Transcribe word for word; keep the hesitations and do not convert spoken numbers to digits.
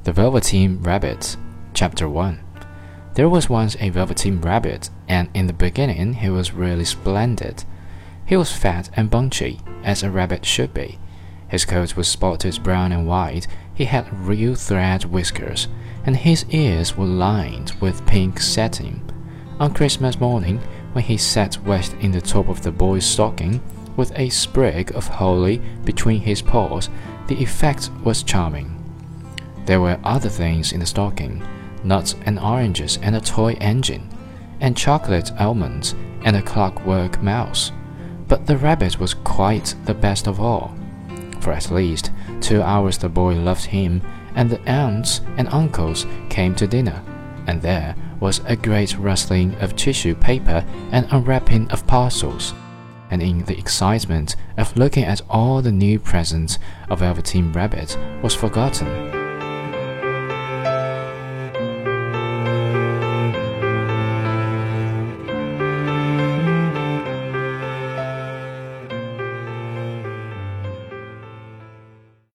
The Velveteen Rabbit, Chapter one. There was once a Velveteen Rabbit, and in the beginning he was really splendid. He was fat and bunchy, as a rabbit should be. His coat was spotted brown and white, he had real thread whiskers, and his ears were lined with pink satin. On Christmas morning, when he sat wedged in the top of the boy's stocking, with a sprig of holly between his paws, the effect was charming. There were other things in the stocking, nuts and oranges and a toy engine, and chocolate almonds and a clockwork mouse. But the rabbit was quite the best of all. For at least two hours the boy loved him, and the aunts and uncles came to dinner, and there was a great rustling of tissue paper and unwrapping of parcels. And in the excitement of looking at all the new presents, a Velveteen Rabbit was forgotten.